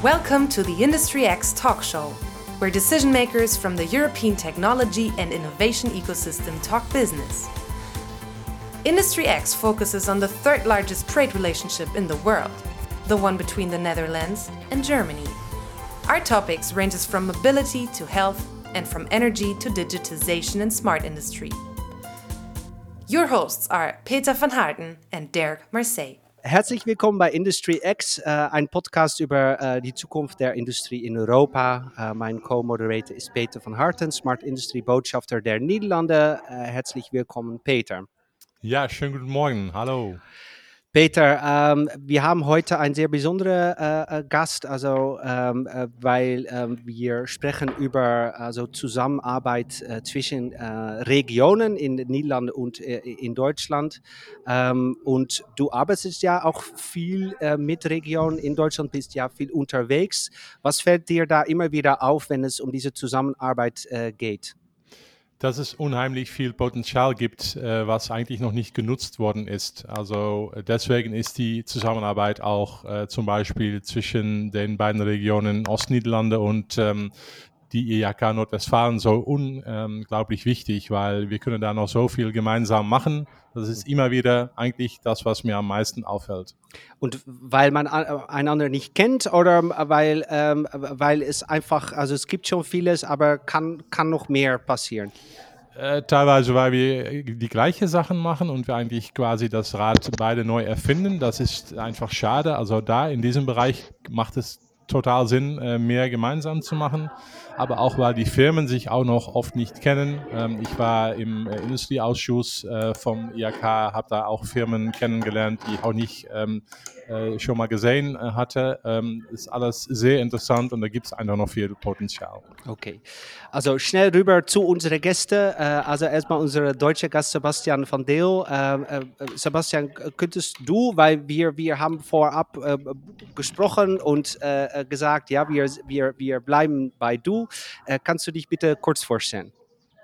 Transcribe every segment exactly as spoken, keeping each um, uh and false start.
Welcome to the Industry X talk show, where decision makers from the European technology and innovation ecosystem talk business. Industry X focuses on the third largest trade relationship in the world, the one between the Netherlands and Germany. Our topics ranges from mobility to health and from energy to digitization and smart industry. Your hosts are Peter van Harten and Dirk Marseille. Herzlich willkommen bei Industry X, äh, ein Podcast über äh, die Zukunft der Industrie in Europa. Äh, mein Co-Moderator ist Peter van Harten, Smart Industry Botschafter der Niederlande. Äh, herzlich willkommen, Peter. Ja, schönen guten Morgen. Hallo. Peter, ähm, wir haben heute einen sehr besonderen äh, Gast, also ähm, äh, weil ähm, wir sprechen über also Zusammenarbeit äh, zwischen äh, Regionen in den Niederlanden und äh, in Deutschland. Ähm, und du arbeitest ja auch viel äh, mit Regionen in Deutschland, bist ja viel unterwegs. Was fällt dir da immer wieder auf, wenn es um diese Zusammenarbeit äh, geht? Dass es unheimlich viel Potenzial gibt, äh, was eigentlich noch nicht genutzt worden ist. Also äh, deswegen ist die Zusammenarbeit auch äh, zum Beispiel zwischen den beiden Regionen Ostniederlande und ähm, die I H K Nordwestfalen so unglaublich wichtig, weil wir können da noch so viel gemeinsam machen. Das ist immer wieder eigentlich das, was mir am meisten auffällt. Und weil man einander nicht kennt oder weil, ähm, weil es einfach, also es gibt schon vieles, aber kann, kann noch mehr passieren? Äh, teilweise, weil wir die gleichen Sachen machen und wir eigentlich quasi das Rad beide neu erfinden. Das ist einfach schade. Also da in diesem Bereich macht es total Sinn, mehr gemeinsam zu machen, aber auch, weil die Firmen sich auch noch oft nicht kennen. Ähm, ich war im äh, Industrieausschuss äh, vom I H K, habe da auch Firmen kennengelernt, die ich auch nicht ähm, äh, schon mal gesehen äh, hatte. Ähm, ist alles sehr interessant und da gibt es einfach noch viel Potenzial. Okay, also schnell rüber zu unseren Gästen. Äh, also erstmal unser deutscher Gast Sebastian van Deel. Äh, äh, Sebastian, könntest du, weil wir, wir haben vorab äh, gesprochen und äh, gesagt, ja, wir, wir, wir bleiben bei du. Äh, kannst du dich bitte kurz vorstellen?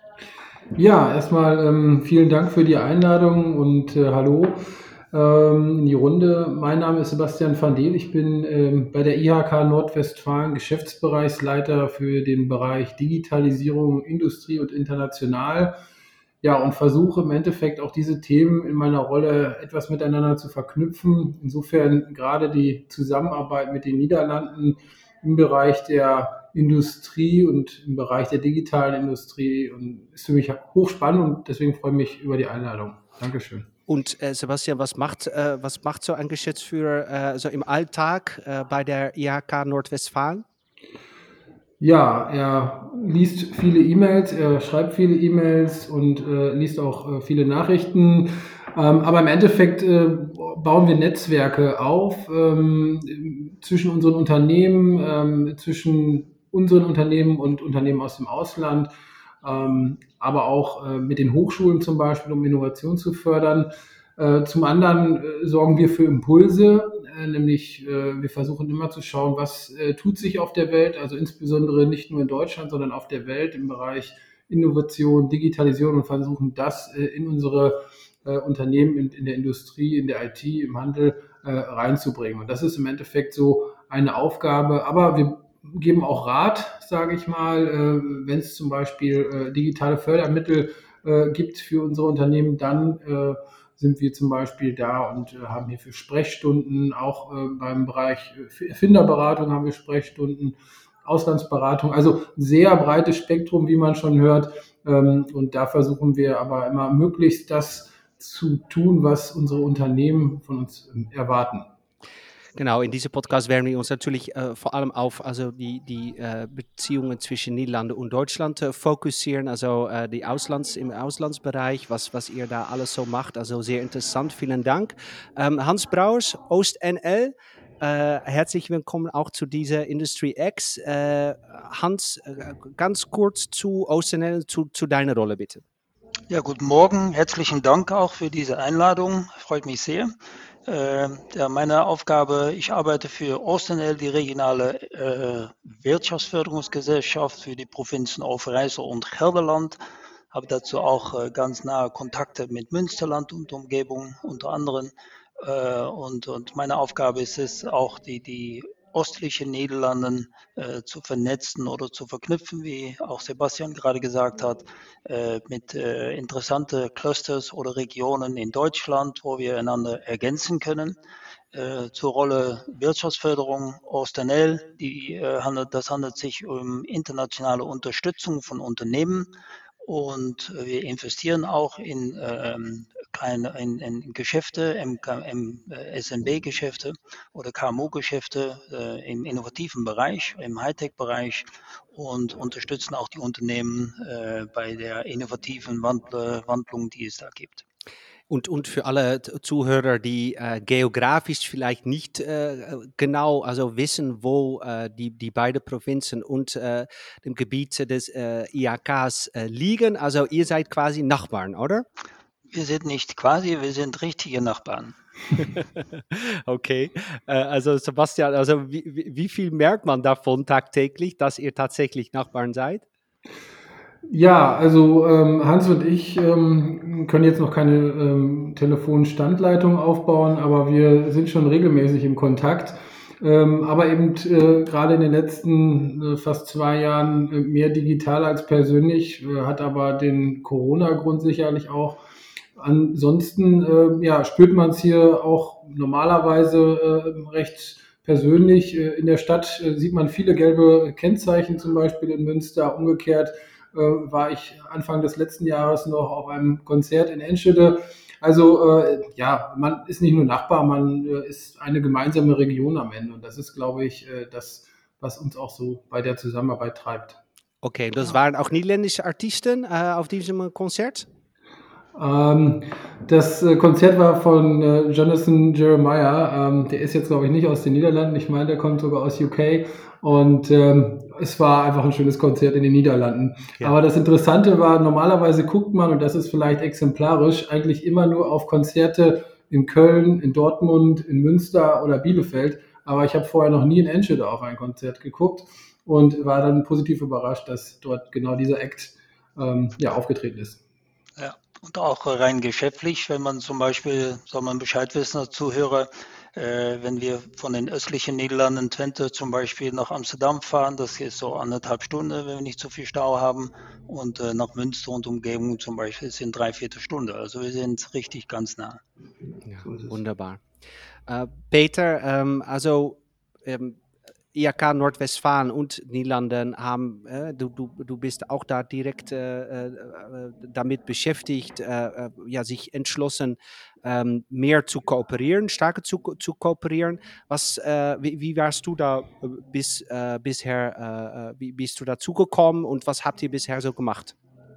Ja, erstmal ähm, vielen Dank für die Einladung und äh, hallo ähm, in die Runde. Mein Name ist Sebastian van Deel. Ich bin ähm, bei der I H K Nordwestfalen Geschäftsbereichsleiter für den Bereich Digitalisierung, Industrie und International. Ja, und versuche im Endeffekt auch diese Themen in meiner Rolle etwas miteinander zu verknüpfen. Insofern gerade die Zusammenarbeit mit den Niederlanden im Bereich der Industrie und im Bereich der digitalen Industrie und ist für mich hochspannend und deswegen freue ich mich über die Einladung. Dankeschön. Und äh, Sebastian, was macht, äh, was macht so ein Geschäftsführer äh, so im Alltag äh, bei der I H K Nordwestfalen? Ja, er liest viele E-Mails, er schreibt viele E-Mails und äh, liest auch äh, viele Nachrichten. Ähm, aber im Endeffekt äh, bauen wir Netzwerke auf ähm, zwischen unseren Unternehmen, ähm, zwischen unseren Unternehmen und Unternehmen aus dem Ausland, ähm, aber auch äh, mit den Hochschulen zum Beispiel, um Innovation zu fördern. Äh, zum anderen äh, sorgen wir für Impulse, äh, nämlich äh, wir versuchen immer zu schauen, was äh, tut sich auf der Welt, also insbesondere nicht nur in Deutschland, sondern auf der Welt im Bereich Innovation, Digitalisierung und versuchen das äh, in unsere äh, Unternehmen, in, in der Industrie, in der I T, im Handel äh, reinzubringen. Und das ist im Endeffekt so eine Aufgabe, aber wir geben auch Rat, sage ich mal, äh, wenn es zum Beispiel äh, digitale Fördermittel äh, gibt für unsere Unternehmen, dann äh, sind wir zum Beispiel da und äh, haben hierfür Sprechstunden, auch äh, beim Bereich Erfinderberatung haben wir Sprechstunden, Auslandsberatung, also ein sehr breites Spektrum, wie man schon hört. Ähm, und da versuchen wir aber immer möglichst das zu tun, was unsere Unternehmen von uns ähm, erwarten. Genau, in diesem Podcast werden wir uns natürlich äh, vor allem auf also die, die äh, Beziehungen zwischen Niederlande und Deutschland äh, fokussieren, also äh, die Auslands, im Auslandsbereich, was, was ihr da alles so macht. Also sehr interessant, vielen Dank. Ähm, Hans Brouwers, OostNL, äh, herzlich willkommen auch zu dieser Industry X. Äh, Hans, äh, ganz kurz zu OostNL, zu, zu deiner Rolle bitte. Ja, guten Morgen, herzlichen Dank auch für diese Einladung, freut mich sehr. Äh, ja, meine Aufgabe, ich arbeite für OostNL, die regionale äh, Wirtschaftsförderungsgesellschaft für die Provinzen Overijssel und Gelderland. Habe dazu auch äh, ganz nahe Kontakte mit Münsterland und Umgebung unter anderem. Äh, und, und meine Aufgabe ist es auch, die, die ostlichen Niederlanden äh, zu vernetzen oder zu verknüpfen, wie auch Sebastian gerade gesagt hat, äh, mit äh, interessante Clusters oder Regionen in Deutschland, wo wir einander ergänzen können. Äh, zur Rolle Wirtschaftsförderung OostNL, die, äh, handelt, das handelt sich um internationale Unterstützung von Unternehmen und äh, wir investieren auch in, ähm, kleine, in, in Geschäfte, M K, M, äh, S M B-Geschäfte oder K M U-Geschäfte äh, im innovativen Bereich, im Hightech-Bereich und unterstützen auch die Unternehmen äh, bei der innovativen Wandl Wandlung, die es da gibt. Und, und für alle Zuhörer, die äh, geografisch vielleicht nicht äh, genau also wissen, wo äh, die, die beiden Provinzen und äh, dem Gebiet des äh, I H Ks äh, liegen, also ihr seid quasi Nachbarn, oder? Wir sind nicht quasi, wir sind richtige Nachbarn. Okay, äh, also Sebastian, also wie, wie viel merkt man davon tagtäglich, dass ihr tatsächlich Nachbarn seid? Ja, also ähm, Hans und ich ähm, können jetzt noch keine ähm, Telefonstandleitung aufbauen, aber wir sind schon regelmäßig im Kontakt. Ähm, aber eben äh, gerade in den letzten äh, fast zwei Jahren äh, mehr digital als persönlich, äh, hat aber den Corona-Grund sicherlich auch. Ansonsten äh, ja, spürt man es hier auch normalerweise äh, recht persönlich. Äh, in der Stadt äh, sieht man viele gelbe Kennzeichen, zum Beispiel in Münster. Umgekehrt äh, war ich Anfang des letzten Jahres noch auf einem Konzert in Enschede. Also äh, ja, man ist nicht nur Nachbar, man äh, ist eine gemeinsame Region am Ende. Und das ist, glaube ich, äh, das, was uns auch so bei der Zusammenarbeit treibt. Okay, das waren auch niederländische Artisten äh, auf diesem Konzert? Ähm, das äh, Konzert war von äh, Jonathan Jeremiah. Ähm, der ist jetzt, glaube ich, nicht aus den Niederlanden. Ich meine, der kommt sogar aus U K. Und ähm, es war einfach ein schönes Konzert in den Niederlanden. Ja. Aber das Interessante war, normalerweise guckt man, und das ist vielleicht exemplarisch, eigentlich immer nur auf Konzerte in Köln, in Dortmund, in Münster oder Bielefeld. Aber ich habe vorher noch nie in Enschede auf ein Konzert geguckt und war dann positiv überrascht, dass dort genau dieser Act ähm, ja, aufgetreten ist. Ja, und auch rein geschäftlich, wenn man zum Beispiel, soll man Bescheid wissen als Zuhörer, äh, wenn wir von den östlichen Niederlanden, Twente zum Beispiel, nach Amsterdam fahren, das ist so anderthalb Stunden, wenn wir nicht so viel Stau haben, und äh, nach Münster und Umgebung zum Beispiel sind drei Viertelstunde. Also wir sind richtig ganz nah. Ja, So ist es. wunderbar. Äh, Peter, ähm, also ähm, I H K Nordwestfalen und Niederlanden haben, äh, du, du, du bist auch da direkt äh, äh, damit beschäftigt, äh, äh, ja, sich entschlossen, ähm, mehr zu kooperieren, stärker zu, zu kooperieren. Was, äh, wie, wie warst du da äh, bis, äh, bisher, äh, wie bist du dazu gekommen und was habt ihr bisher so gemacht?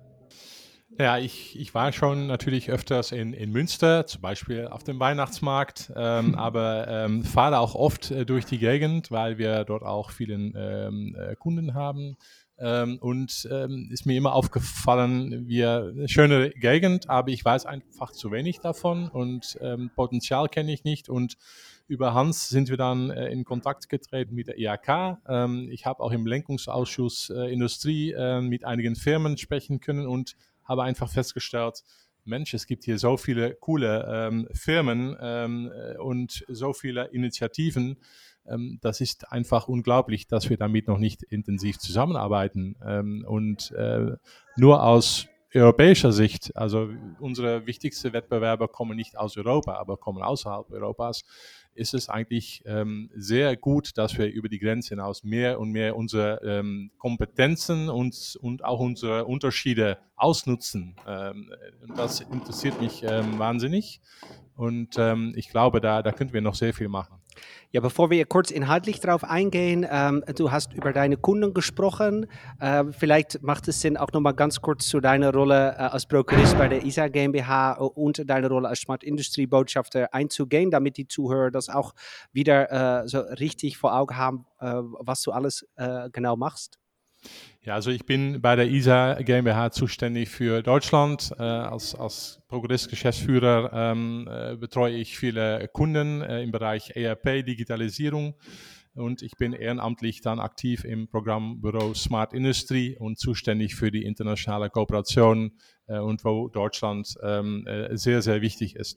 Ja, ich, ich war schon natürlich öfters in, in Münster, zum Beispiel auf dem Weihnachtsmarkt, ähm, aber ähm, fahre auch oft äh, durch die Gegend, weil wir dort auch vielen ähm, äh, Kunden haben. Ähm, und ähm, ist mir immer aufgefallen, wir eine schöne Gegend, aber ich weiß einfach zu wenig davon und ähm, Potenzial kenne ich nicht. Und über Hans sind wir dann äh, in Kontakt getreten mit der I H K. Ähm, ich habe auch im Lenkungsausschuss äh, Industrie äh, mit einigen Firmen sprechen können und habe einfach festgestellt, Mensch, es gibt hier so viele coole ähm, Firmen ähm, und so viele Initiativen. Ähm, das ist einfach unglaublich, dass wir damit noch nicht intensiv zusammenarbeiten. Ähm, und äh, nur aus europäischer Sicht, also unsere wichtigsten Wettbewerber kommen nicht aus Europa, aber kommen außerhalb Europas, ist es eigentlich ähm, sehr gut, dass wir über die Grenze hinaus mehr und mehr unsere ähm, Kompetenzen und, und auch unsere Unterschiede ausnutzen. Ähm, das interessiert mich ähm, wahnsinnig und ähm, ich glaube, da, da könnten wir noch sehr viel machen. Ja, bevor wir kurz inhaltlich darauf eingehen, ähm, du hast über deine Kunden gesprochen. Äh, vielleicht macht es Sinn, auch nochmal ganz kurz zu deiner Rolle äh, als Prokurist bei der I S A GmbH und deine Rolle als Smart Industry Botschafter einzugehen, damit die Zuhörer das auch wieder äh, so richtig vor Augen haben, äh, was du alles äh, genau machst. Ja, also ich bin bei der I S A GmbH zuständig für Deutschland. Äh, als als Prokurist-Geschäftsführer ähm, äh, betreue ich viele Kunden äh, im Bereich E R P, Digitalisierung. Und ich bin ehrenamtlich dann aktiv im Programmbüro Smart Industry und zuständig für die internationale Kooperation äh, und wo Deutschland ähm, äh, sehr, sehr wichtig ist.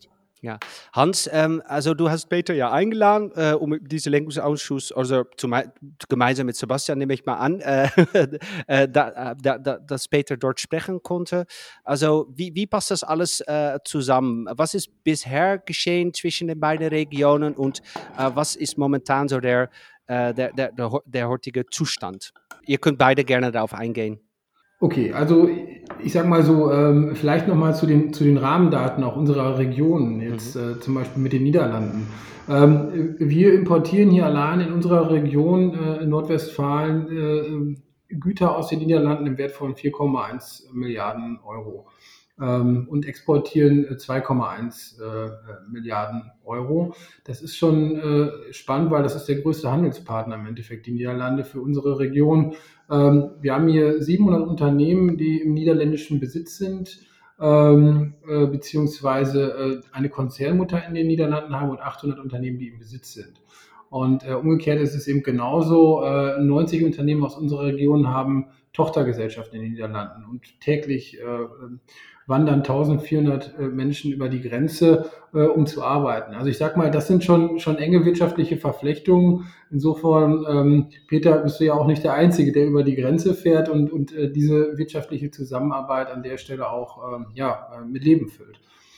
Ja, Hans, ähm, also du hast Peter ja eingeladen, äh, um diesen Lenkungsausschuss, also zum, gemeinsam mit Sebastian nehme ich mal an, äh, äh, da, da, da, dass Peter dort sprechen konnte. Also wie, wie passt das alles äh, zusammen? Was ist bisher geschehen zwischen den beiden Regionen und äh, was ist momentan so der, äh, der, der, der, der heutige Zustand? Ihr könnt beide gerne darauf eingehen. Okay, also ich sage mal so, ähm, vielleicht nochmal zu den, zu den Rahmendaten auch unserer Region, jetzt mhm. äh, zum Beispiel mit den Niederlanden. Ähm, wir importieren hier allein in unserer Region äh, in Nordwestfalen äh, Güter aus den Niederlanden im Wert von vier Komma eins Milliarden Euro ähm, und exportieren zwei Komma eins äh, Milliarden Euro. Das ist schon äh, spannend, weil das ist der größte Handelspartner im Endeffekt, die Niederlande für unsere Region. Ähm, wir haben hier siebenhundert Unternehmen, die im niederländischen Besitz sind, ähm, äh, beziehungsweise äh, eine Konzernmutter in den Niederlanden haben und achthundert Unternehmen, die im Besitz sind. Und äh, umgekehrt ist es eben genauso, äh, neunzig Unternehmen aus unserer Region haben Tochtergesellschaften in den Niederlanden und täglich äh, wandern eintausendvierhundert äh, Menschen über die Grenze, äh, um zu arbeiten. Also ich sag mal, das sind schon, schon enge wirtschaftliche Verflechtungen. Insofern, ähm, Peter, bist du ja auch nicht der Einzige, der über die Grenze fährt und, und äh, diese wirtschaftliche Zusammenarbeit an der Stelle auch ähm, ja, äh, mit Leben füllt.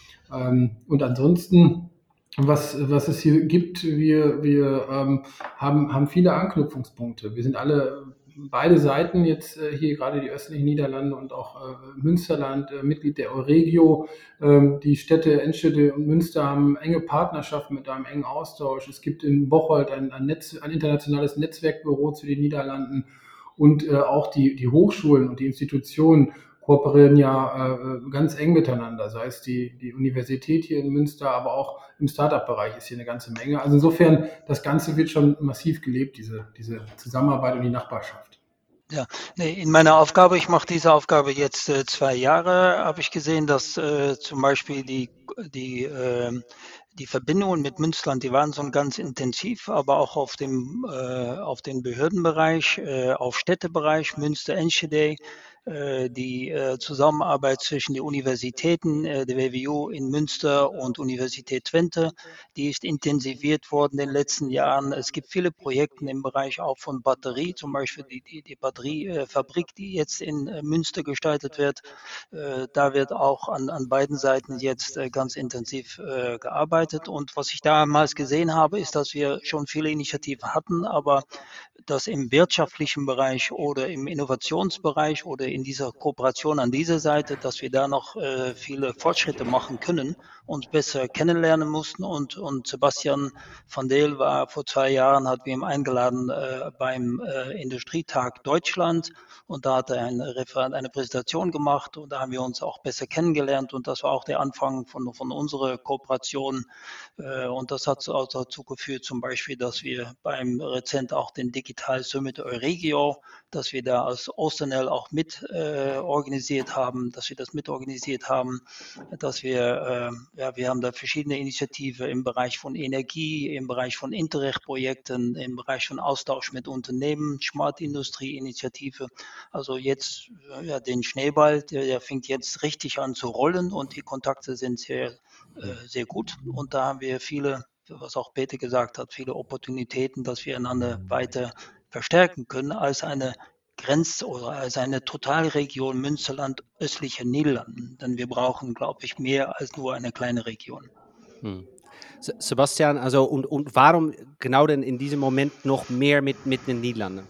Ähm, und ansonsten, was, was es hier gibt, wir, wir ähm, haben, haben viele Anknüpfungspunkte. Wir sind alle beide Seiten jetzt äh, hier gerade die östlichen Niederlande und auch äh, Münsterland, äh, Mitglied der Euregio. Ähm, die Städte Enschede und Münster haben enge Partnerschaften mit einem engen Austausch. Es gibt in Bocholt ein, ein, Netz, ein internationales Netzwerkbüro zu den Niederlanden und äh, auch die, die Hochschulen und die Institutionen kooperieren ja äh, ganz eng miteinander, sei es die, die Universität hier in Münster, aber auch im Startup-Bereich ist hier eine ganze Menge. Also insofern, das Ganze wird schon massiv gelebt, diese, diese Zusammenarbeit und die Nachbarschaft. Ja, nee, in meiner Aufgabe, ich mache diese Aufgabe jetzt äh, zwei Jahre, habe ich gesehen, dass äh, zum Beispiel die, die, äh, die Verbindungen mit Münsterland, die waren schon ganz intensiv, aber auch auf dem, äh, auf den Behördenbereich, äh, auf Städtebereich, Münster, Enschede, äh, die äh, Zusammenarbeit zwischen den Universitäten, äh, der W W U in Münster und Universität Twente, die ist intensiviert worden in den letzten Jahren. Es gibt viele Projekte im Bereich auch von Batterie, zum Beispiel die, die, die Batteriefabrik, die jetzt in äh, Münster gestaltet wird. Äh, da wird auch an, an beiden Seiten jetzt äh, ganz intensiv äh, gearbeitet. Und was ich damals gesehen habe, ist, dass wir schon viele Initiativen hatten, aber dass im wirtschaftlichen Bereich oder im Innovationsbereich oder in dieser Kooperation an dieser Seite, dass wir da noch äh, viele Fortschritte machen können, uns besser kennenlernen mussten. Und, und Sebastian van Deel war vor zwei Jahren, hat wir ihn eingeladen äh, beim äh, Industrietag Deutschland und da hat er eine, Referat, eine Präsentation gemacht und da haben wir uns auch besser kennengelernt und das war auch der Anfang von, von unserer Kooperation äh, und das hat auch dazu geführt zum Beispiel, dass wir beim Rezent auch den Digital Summit Euregio, dass wir da als Ostenel auch mit äh, organisiert haben, dass wir das mitorganisiert haben, dass wir, äh, ja, wir haben da verschiedene Initiativen im Bereich von Energie, im Bereich von Interreg-Projekten, im Bereich von Austausch mit Unternehmen, Smart Industrie-Initiative. Also jetzt, ja, den Schneeball, der, der fängt jetzt richtig an zu rollen und die Kontakte sind sehr, äh, sehr gut und da haben wir viele, was auch Peter gesagt hat, viele Opportunitäten, dass wir einander weiter verstärken können als eine Grenz- oder als eine Totalregion Münsterland östliche Niederlanden. Denn wir brauchen, glaube ich, mehr als nur eine kleine Region. Hm. Sebastian, also und, und warum genau denn in diesem Moment noch mehr mit, mit den Niederlanden?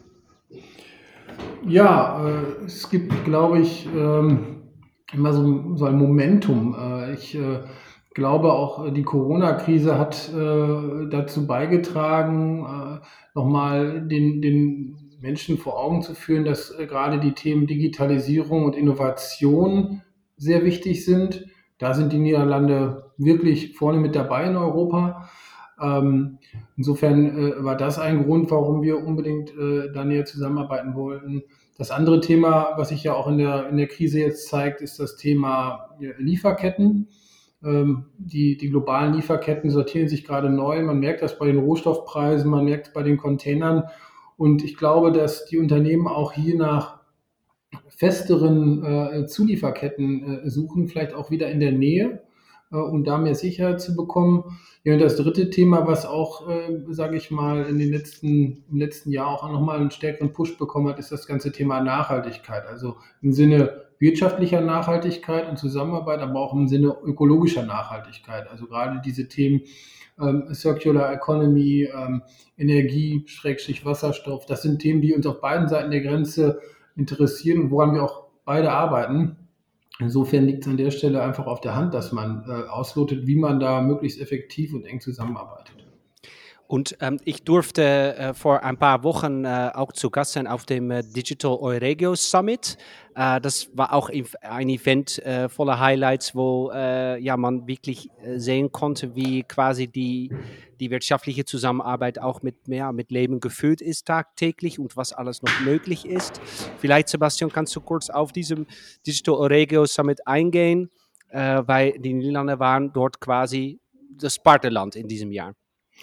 Ja, äh, es gibt, glaube ich, ähm, immer so, so ein Momentum. Äh, ich äh, glaube auch, die Corona-Krise hat äh, dazu beigetragen, äh, nochmal den, den Menschen vor Augen zu führen, dass äh, gerade die Themen Digitalisierung und Innovation sehr wichtig sind. Da sind die Niederlande wirklich vorne mit dabei in Europa. Ähm, insofern äh, war das ein Grund, warum wir unbedingt äh, da näher zusammenarbeiten wollten. Das andere Thema, was sich ja auch in der, in der Krise jetzt zeigt, ist das Thema Lieferketten. Ähm, die, die globalen Lieferketten sortieren sich gerade neu. Man merkt das bei den Rohstoffpreisen, man merkt es bei den Containern. Und ich glaube, dass die Unternehmen auch hier nach festeren äh, Zulieferketten äh, suchen, vielleicht auch wieder in der Nähe. äh, um da mehr Sicherheit zu bekommen. Ja, und das dritte Thema, was auch, äh, sage ich mal, in den letzten, im letzten Jahr auch nochmal einen stärkeren Push bekommen hat, ist das ganze Thema Nachhaltigkeit. Also im Sinne wirtschaftlicher Nachhaltigkeit und Zusammenarbeit, aber auch im Sinne ökologischer Nachhaltigkeit. Also gerade diese Themen ähm, Circular Economy, ähm, Energie, Schrägstrich Wasserstoff, das sind Themen, die uns auf beiden Seiten der Grenze interessieren und woran wir auch beide arbeiten. Insofern liegt es an der Stelle einfach auf der Hand, dass man äh, auslotet, wie man da möglichst effektiv und eng zusammenarbeitet. Und ähm, ich durfte äh, vor ein paar Wochen äh, auch zu Gast sein auf dem äh, Digital Euregio Summit. Äh, das war auch ein Event äh, voller Highlights, wo äh, ja, man wirklich äh, sehen konnte, wie quasi die, die wirtschaftliche Zusammenarbeit auch mit, mehr, mit Leben gefüllt ist tagtäglich und was alles noch möglich ist. Vielleicht, Sebastian, kannst du kurz auf diesem Digital Euregio Summit eingehen, äh, weil die Niederlande waren dort quasi das Partnerland in diesem Jahr.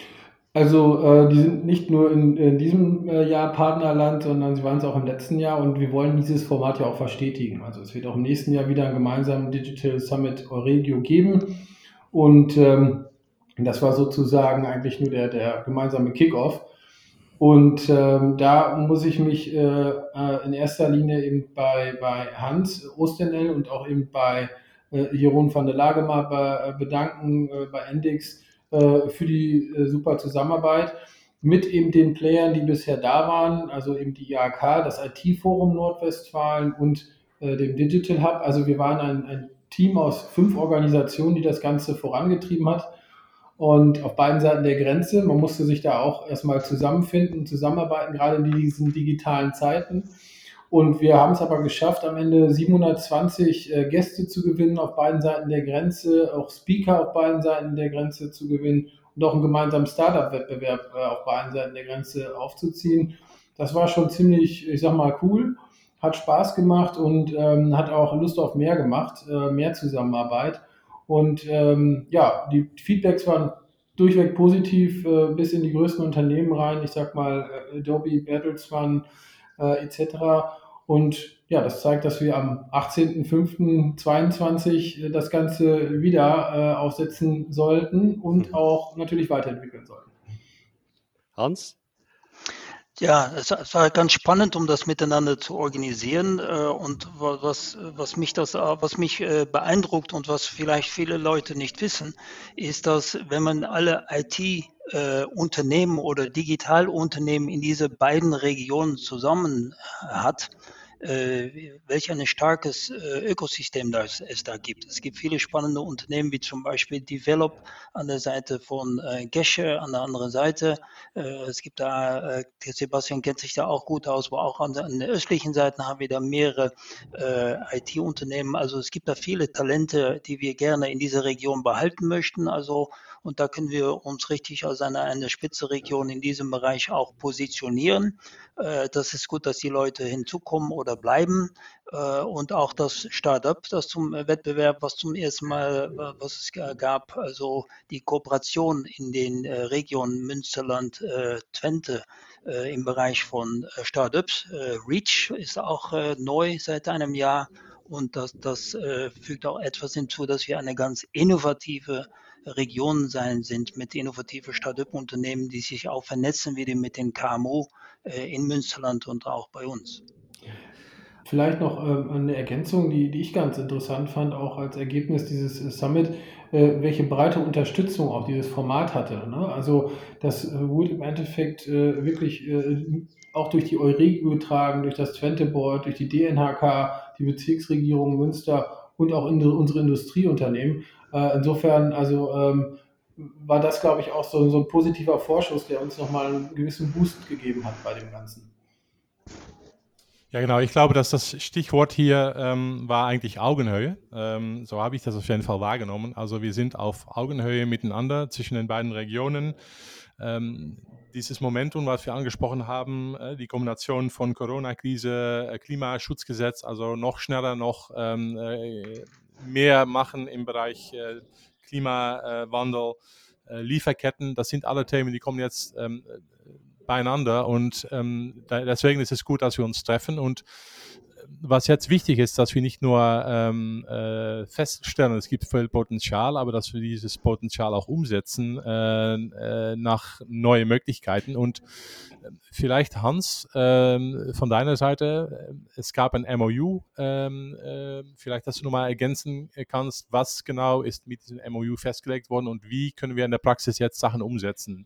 Also äh, die sind nicht nur in, in diesem äh, Jahr Partnerland, sondern sie waren es auch im letzten Jahr und wir wollen dieses Format ja auch verstetigen. Also es wird auch im nächsten Jahr wieder einen gemeinsamen Digital Summit Euregio geben und ähm, das war sozusagen eigentlich nur der, der gemeinsame Kickoff. Und ähm, da muss ich mich äh, äh, in erster Linie eben bei, bei Hans Ostenel und auch eben bei äh, Jeroen van der Lagema be, bedanken, äh, bei Endix, für die äh, super Zusammenarbeit mit eben den Playern, die bisher da waren, also eben die I A K, das I T-Forum Nordwestfalen und äh, dem Digital Hub. Also wir waren ein, ein Team aus fünf Organisationen, die das Ganze vorangetrieben hat und auf beiden Seiten der Grenze. Man musste sich da auch erstmal zusammenfinden, zusammenarbeiten, gerade in diesen digitalen Zeiten. Und wir haben es aber geschafft, am Ende siebenhundertzwanzig äh, Gäste zu gewinnen auf beiden Seiten der Grenze, auch Speaker auf beiden Seiten der Grenze zu gewinnen und auch einen gemeinsamen Startup-Wettbewerb äh, auf beiden Seiten der Grenze aufzuziehen. Das war schon ziemlich, ich sag mal, cool, hat Spaß gemacht und ähm, hat auch Lust auf mehr gemacht, äh, mehr Zusammenarbeit. Und ähm, ja, die Feedbacks waren durchweg positiv, äh, bis in die größten Unternehmen rein. Ich sag mal, Adobe, Bertelsmann, äh, et cetera. Und ja, das zeigt, dass wir am achtzehnten fünften zweiundzwanzig das Ganze wieder äh, aufsetzen sollten und auch natürlich weiterentwickeln sollten. Hans? Ja, es, es war ganz spannend, um das miteinander zu organisieren. Äh, und was, was mich das, was mich äh, beeindruckt und was vielleicht viele Leute nicht wissen, ist, dass wenn man alle I T-Unternehmen äh, oder Digitalunternehmen in diese beiden Regionen zusammen hat, äh, welch ein starkes äh, Ökosystem das es da gibt. Es gibt viele spannende Unternehmen, wie zum Beispiel Develop an der Seite von äh, Gesche, an der anderen Seite. Äh, es gibt da, äh, Sebastian kennt sich da auch gut aus, aber auch an der, an der östlichen Seite haben wir da mehrere äh, I T-Unternehmen. Also es gibt da viele Talente, die wir gerne in dieser Region behalten möchten. Also und da können wir uns richtig als eine, eine Spitzenregion in diesem Bereich auch positionieren. Äh, das ist gut, dass die Leute hinzukommen oder bleiben. Äh, und auch das Startup, das zum Wettbewerb, was zum ersten Mal, äh, was es gab, also die Kooperation in den äh, Regionen Münsterland, äh, Twente äh, im Bereich von äh, Startups. Äh, Reach ist auch äh, neu seit einem Jahr. Und das, das äh, fügt auch etwas hinzu, dass wir eine ganz innovative Region sein sind mit innovativen Start-up-Unternehmen, die sich auch vernetzen wieder mit den K M U äh, in Münsterland und auch bei uns. Vielleicht noch ähm, eine Ergänzung, die, die ich ganz interessant fand, auch als Ergebnis dieses äh, Summit, äh, welche breite Unterstützung auch dieses Format hatte. Ne? Also das äh, wurde im Endeffekt äh, wirklich äh, auch durch die Euregio getragen, durch das Twente Board, durch die D N H K, die Bezirksregierung Münster und auch in unsere Industrieunternehmen. Äh, insofern, also ähm, war das, glaube ich, auch so, so ein positiver Vorschuss, der uns nochmal einen gewissen Boost gegeben hat bei dem Ganzen. Ja, genau. Ich glaube, dass das Stichwort hier ähm, war eigentlich Augenhöhe. Ähm, so habe ich das auf jeden Fall wahrgenommen. Also wir sind auf Augenhöhe miteinander zwischen den beiden Regionen. Ähm, dieses Momentum, was wir angesprochen haben, äh, die Kombination von Corona-Krise, äh, Klimaschutzgesetz, also noch schneller, noch ähm, äh, mehr machen im Bereich äh, Klimawandel, äh, Lieferketten, das sind alle Themen, die kommen jetzt ähm, beieinander und ähm, da, deswegen ist es gut, dass wir uns treffen und was jetzt wichtig ist, dass wir nicht nur ähm, äh, feststellen, es gibt viel Potenzial, aber dass wir dieses Potenzial auch umsetzen äh, äh, nach neue Möglichkeiten. Und äh, vielleicht, Hans, äh, von deiner Seite, äh, es gab ein M O U, äh, äh, vielleicht, dass du nochmal ergänzen kannst, was genau ist mit diesem M O U festgelegt worden und wie können wir in der Praxis jetzt Sachen umsetzen?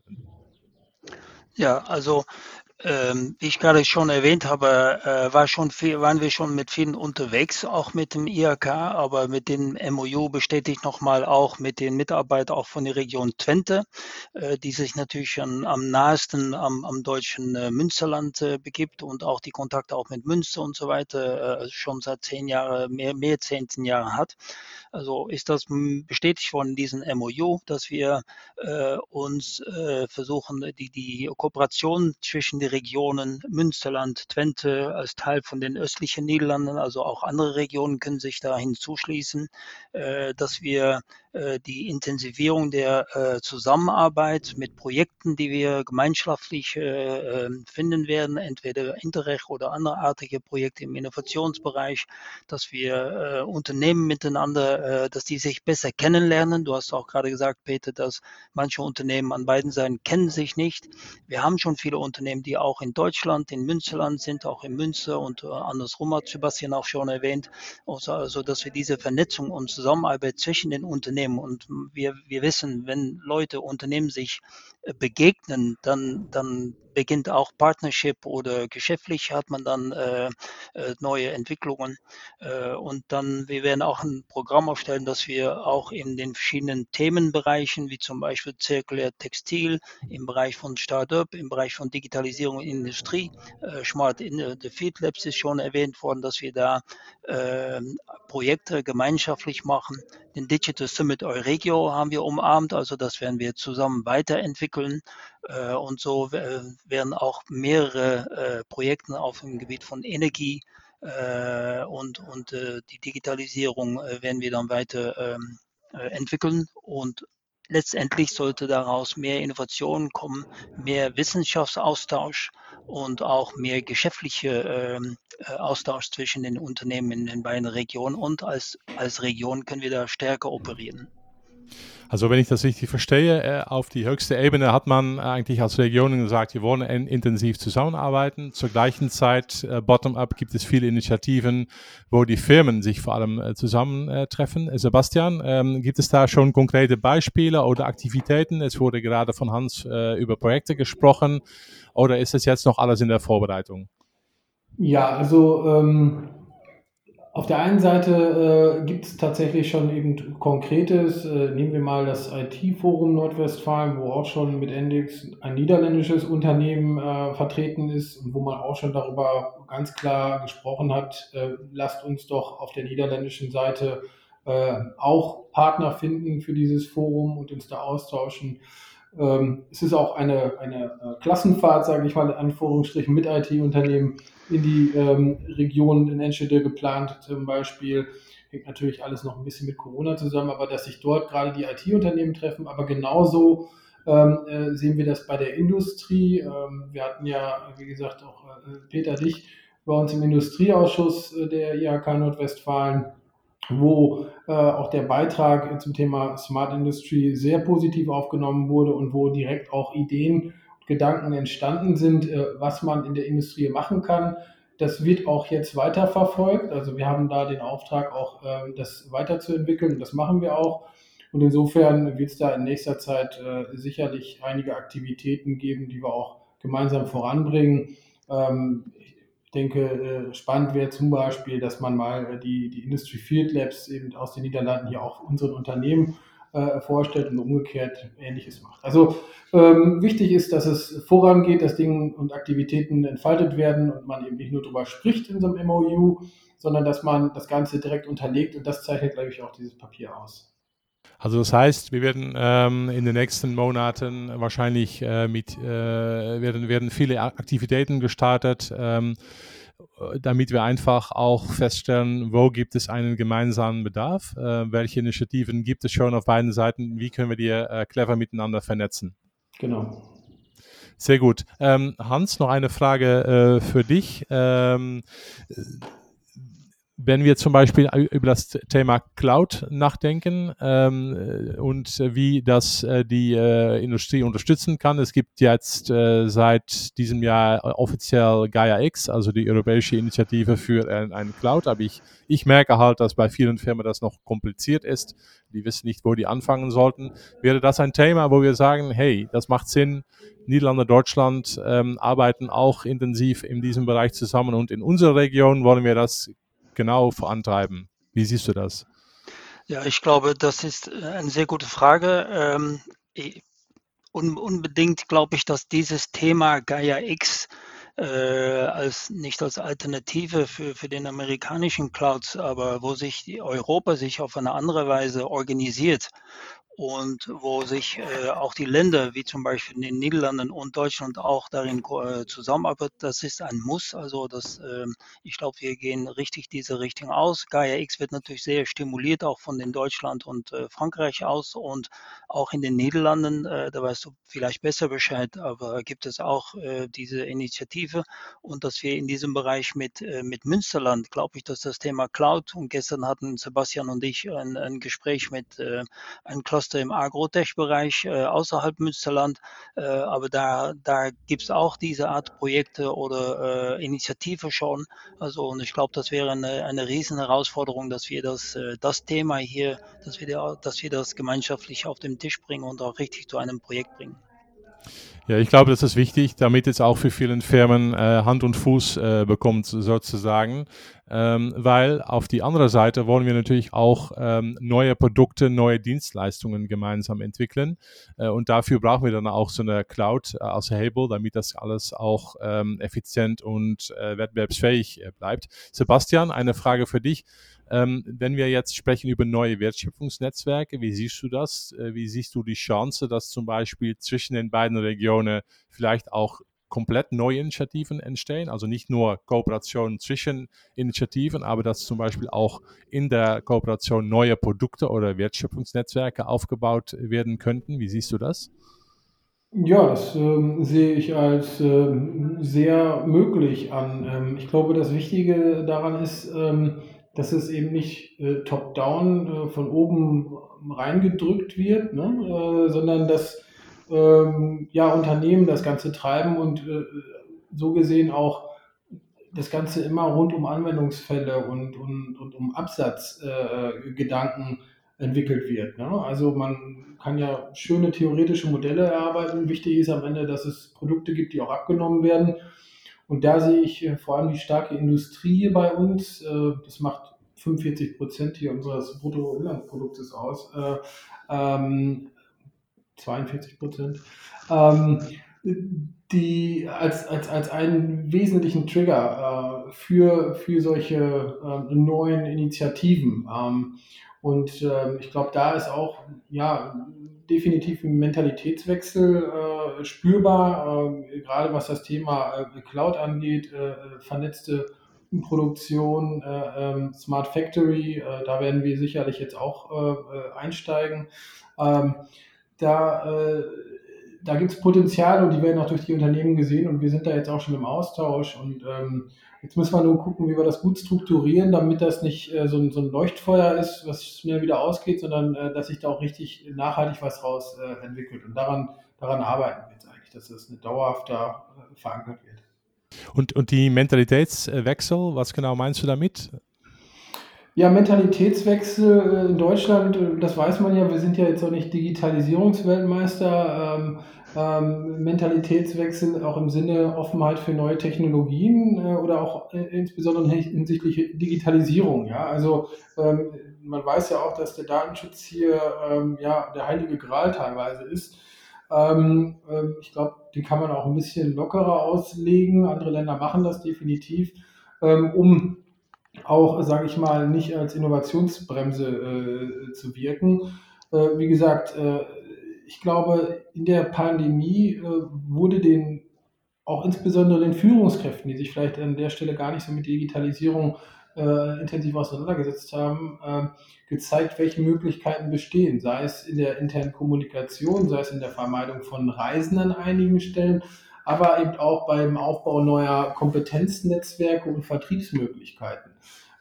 Ja, also Ähm, wie ich gerade schon erwähnt habe, äh, war schon viel, waren wir schon mit vielen unterwegs, auch mit dem I H K, aber mit dem M O U bestätigt nochmal auch mit den Mitarbeitern auch von der Region Twente, äh, die sich natürlich an, am nahesten am, am deutschen äh, Münsterland äh, begibt und auch die Kontakte auch mit Münster und so weiter äh, schon seit zehn Jahren, mehr, mehr zehn Jahren hat. Also ist das bestätigt worden in diesem M O U, dass wir äh, uns äh, versuchen, die, die Kooperation zwischen den Regionen Münsterland, Twente als Teil von den östlichen Niederlanden, also auch andere Regionen können sich da hinzuschließen, äh, dass wir äh, die Intensivierung der äh, Zusammenarbeit mit Projekten, die wir gemeinschaftlich äh, finden werden, entweder Interreg oder anderartige Projekte im Innovationsbereich, dass wir äh, Unternehmen miteinander, äh, dass die sich besser kennenlernen. Du hast auch gerade gesagt, Peter, dass manche Unternehmen an beiden Seiten kennen sich nicht. Wir haben schon viele Unternehmen, die auch in Deutschland, in Münsterland sind, auch in Münster und äh, andersrum hat Sebastian auch schon erwähnt, also, also dass wir diese Vernetzung und Zusammenarbeit zwischen den Unternehmen und wir, wir wissen, wenn Leute, Unternehmen sich äh, begegnen, dann, dann beginnt auch Partnership oder geschäftlich hat man dann äh, äh, neue Entwicklungen. Äh, und dann, wir werden auch ein Programm aufstellen, dass wir auch in den verschiedenen Themenbereichen, wie zum Beispiel zirkulär Textil, im Bereich von Start-up, im Bereich von Digitalisierung in Industrie, äh, Smart in the Field Labs ist schon erwähnt worden, dass wir da äh, Projekte gemeinschaftlich machen. Den Digital Summit Euregio haben wir umarmt, also das werden wir zusammen weiterentwickeln. Äh, und so äh, werden auch mehrere äh, Projekte auf dem Gebiet von Energie äh, und, und äh, die Digitalisierung äh, werden wir dann weiter ähm, äh, entwickeln. Und letztendlich sollte daraus mehr Innovation kommen, mehr Wissenschaftsaustausch und auch mehr geschäftlicher ähm, äh, Austausch zwischen den Unternehmen in den beiden Regionen. Und als, als Region können wir da stärker operieren. Also wenn ich das richtig verstehe, äh, auf die höchste Ebene hat man eigentlich als Regionen gesagt, wir wollen in, intensiv zusammenarbeiten. Zur gleichen Zeit, äh, bottom-up, gibt es viele Initiativen, wo die Firmen sich vor allem äh, zusammentreffen. Äh, Sebastian, ähm, gibt es da schon konkrete Beispiele oder Aktivitäten? Es wurde gerade von Hans äh, über Projekte gesprochen. Oder ist das jetzt noch alles in der Vorbereitung? Ja, also ähm auf der einen Seite äh, gibt es tatsächlich schon eben Konkretes. Äh, nehmen wir mal das I T-Forum Nordwestfalen, wo auch schon mit Endix ein niederländisches Unternehmen äh, vertreten ist und wo man auch schon darüber ganz klar gesprochen hat, äh, lasst uns doch auf der niederländischen Seite äh, auch Partner finden für dieses Forum und uns da austauschen. Ähm, es ist auch eine, eine äh, Klassenfahrt, sage ich mal in Anführungsstrichen, mit I T-Unternehmen in die ähm, Region in Enschede geplant zum Beispiel. Hängt natürlich alles noch ein bisschen mit Corona zusammen, aber dass sich dort gerade die I T-Unternehmen treffen, aber genauso ähm, äh, sehen wir das bei der Industrie. Ähm, wir hatten ja, wie gesagt, auch äh, Peter, dich bei uns im Industrieausschuss äh, der I H K Nordwestfalen, wo äh, auch der Beitrag zum Thema Smart Industry sehr positiv aufgenommen wurde und wo direkt auch Ideen Gedanken entstanden sind, was man in der Industrie machen kann. Das wird auch jetzt weiterverfolgt. Also wir haben da den Auftrag, auch das weiterzuentwickeln und das machen wir auch. Und insofern wird es da in nächster Zeit sicherlich einige Aktivitäten geben, die wir auch gemeinsam voranbringen. Ich denke, spannend wäre zum Beispiel, dass man mal die, die Industry Field Labs eben aus den Niederlanden hier auch unseren Unternehmen äh, vorstellt und umgekehrt Ähnliches macht. Also ähm, wichtig ist, dass es vorangeht, dass Dinge und Aktivitäten entfaltet werden und man eben nicht nur darüber spricht in so einem M O U, sondern dass man das Ganze direkt unterlegt und das zeichnet, glaube ich, auch dieses Papier aus. Also das heißt, wir werden ähm, in den nächsten Monaten wahrscheinlich äh, mit, äh, werden, werden viele Aktivitäten gestartet, ähm, damit wir einfach auch feststellen, wo gibt es einen gemeinsamen Bedarf, äh, welche Initiativen gibt es schon auf beiden Seiten, wie können wir die äh, clever miteinander vernetzen. Genau. Sehr gut. Ähm, Hans, noch eine Frage äh, für dich. Ähm, wenn wir zum Beispiel über das Thema Cloud nachdenken ähm, und wie das äh, die äh, Industrie unterstützen kann. Es gibt jetzt äh, seit diesem Jahr offiziell Gaia X, also die europäische Initiative für ein, ein Cloud. Aber ich, ich merke halt, dass bei vielen Firmen das noch kompliziert ist. Die wissen nicht, wo die anfangen sollten. Wäre das ein Thema, wo wir sagen, hey, das macht Sinn, Niederlande, Deutschland ähm, arbeiten auch intensiv in diesem Bereich zusammen und in unserer Region wollen wir das genau vorantreiben. Wie siehst du das? Ja, ich glaube, das ist eine sehr gute Frage. Ähm, un unbedingt glaube ich, dass dieses Thema Gaia X äh, als nicht als Alternative für, für den amerikanischen Clouds, aber wo sich die Europa sich auf eine andere Weise organisiert und wo sich äh, auch die Länder, wie zum Beispiel in den Niederlanden und Deutschland, auch darin äh, zusammenarbeiten, das ist ein Muss. Also das, äh, ich glaube, wir gehen richtig diese Richtung aus. Gaia X wird natürlich sehr stimuliert, auch von den Deutschland und äh, Frankreich aus und auch in den Niederlanden, äh, da weißt du vielleicht besser Bescheid, aber gibt es auch äh, diese Initiative und dass wir in diesem Bereich mit, äh, mit Münsterland, glaube ich, dass das Thema Cloud und gestern hatten Sebastian und ich ein, ein Gespräch mit äh, einem Cluster im Agrotech-Bereich äh, außerhalb Münsterland, äh, aber da, da gibt es auch diese Art Projekte oder äh, Initiative schon. Also und ich glaube, das wäre eine, eine riesen Herausforderung, dass wir das, äh, das Thema hier, dass wir, da, dass wir das gemeinschaftlich auf den Tisch bringen und auch richtig zu einem Projekt bringen. Ja, ich glaube, das ist wichtig, damit es auch für vielen Firmen äh, Hand und Fuß äh, bekommt, sozusagen. Ähm, weil auf die andere Seite wollen wir natürlich auch ähm, neue Produkte, neue Dienstleistungen gemeinsam entwickeln. Äh, und dafür brauchen wir dann auch so eine Cloud äh, als Hebel, damit das alles auch ähm, effizient und äh, wettbewerbsfähig äh, bleibt. Sebastian, eine Frage für dich. Ähm, wenn wir jetzt sprechen über neue Wertschöpfungsnetzwerke, wie siehst du das? Äh, wie siehst du die Chance, dass zum Beispiel zwischen den beiden Regionen vielleicht auch komplett neue Initiativen entstehen? Also nicht nur Kooperationen zwischen Initiativen, aber dass zum Beispiel auch in der Kooperation neue Produkte oder Wertschöpfungsnetzwerke aufgebaut werden könnten. Wie siehst du das? Ja, das ähm, sehe ich als ähm, sehr möglich an. Ähm, ich glaube, das Wichtige daran ist, ähm, dass es eben nicht äh, top-down äh, von oben reingedrückt wird, ne? äh, sondern dass ähm, ja, Unternehmen das Ganze treiben und äh, so gesehen auch das Ganze immer rund um Anwendungsfälle und, und, und um Absatzgedanken äh, entwickelt wird. Ne? Also man kann ja schöne theoretische Modelle erarbeiten. Wichtig ist am Ende, dass es Produkte gibt, die auch abgenommen werden. Und da sehe ich äh, vor allem die starke Industrie bei uns. Äh, das macht fünfundvierzig Prozent hier unseres Bruttoinlandsproduktes aus. Äh, ähm, zweiundvierzig Prozent. Ähm, die als, als, als einen wesentlichen Trigger äh, für, für solche äh, neuen Initiativen. Ähm, und äh, ich glaube, da ist auch ja, definitiv ein Mentalitätswechsel äh, spürbar, äh, gerade was das Thema äh, Cloud angeht, äh, vernetzte Produktion, äh, ähm, Smart Factory, äh, da werden wir sicherlich jetzt auch äh, einsteigen. Ähm, da äh, da gibt es Potenziale und die werden auch durch die Unternehmen gesehen und wir sind da jetzt auch schon im Austausch und ähm, jetzt müssen wir nur gucken, wie wir das gut strukturieren, damit das nicht äh, so, ein, so ein Leuchtfeuer ist, was schnell wieder ausgeht, sondern äh, dass sich da auch richtig nachhaltig was raus äh, entwickelt und daran, daran arbeiten wir jetzt eigentlich, dass das eine dauerhafter äh, verankert wird. Und, und die Mentalitätswechsel, was genau meinst du damit? Ja, Mentalitätswechsel in Deutschland, das weiß man ja, wir sind ja jetzt auch nicht Digitalisierungsweltmeister. Ähm, ähm, Mentalitätswechsel auch im Sinne Offenheit für neue Technologien äh, oder auch äh, insbesondere hinsichtlich Digitalisierung. Ja, also ähm, man weiß ja auch, dass der Datenschutz hier ähm, ja der heilige Gral teilweise ist. Ähm, äh, ich glaube, den kann man auch ein bisschen lockerer auslegen. Andere Länder machen das definitiv, ähm, um auch, sage ich mal, nicht als Innovationsbremse äh, zu wirken. Äh, wie gesagt, äh, ich glaube, in der Pandemie äh, wurde den auch insbesondere den Führungskräften, die sich vielleicht an der Stelle gar nicht so mit Digitalisierung äh, intensiv auseinandergesetzt haben, äh, gezeigt, welche Möglichkeiten bestehen, sei es in der internen Kommunikation, sei es in der Vermeidung von Reisen an einigen Stellen, aber eben auch beim Aufbau neuer Kompetenznetzwerke und Vertriebsmöglichkeiten.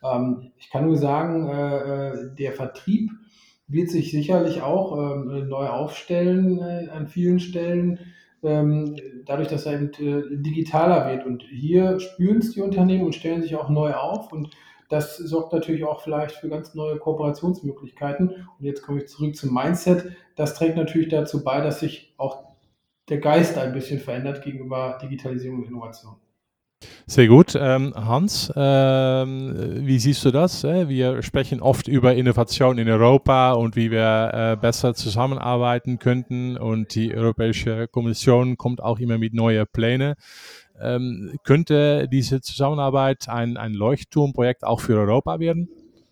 Ähm, ich kann nur sagen, äh, der Vertrieb wird sich sicherlich auch ähm, neu aufstellen äh, an vielen Stellen, ähm, dadurch, dass er eben äh, digitaler wird. Und hier spüren es die Unternehmen und stellen sich auch neu auf. Und das sorgt natürlich auch vielleicht für ganz neue Kooperationsmöglichkeiten. Und jetzt komme ich zurück zum Mindset. Das trägt natürlich dazu bei, dass sich auch der Geist ein bisschen verändert gegenüber Digitalisierung und Innovation. Sehr gut. Ähm, Hans, ähm, wie siehst du das? Äh? Wir sprechen oft über Innovation in Europa und wie wir äh, besser zusammenarbeiten könnten. Und die Europäische Kommission kommt auch immer mit neuen Plänen. Ähm, könnte diese Zusammenarbeit ein, ein Leuchtturmprojekt auch für Europa werden?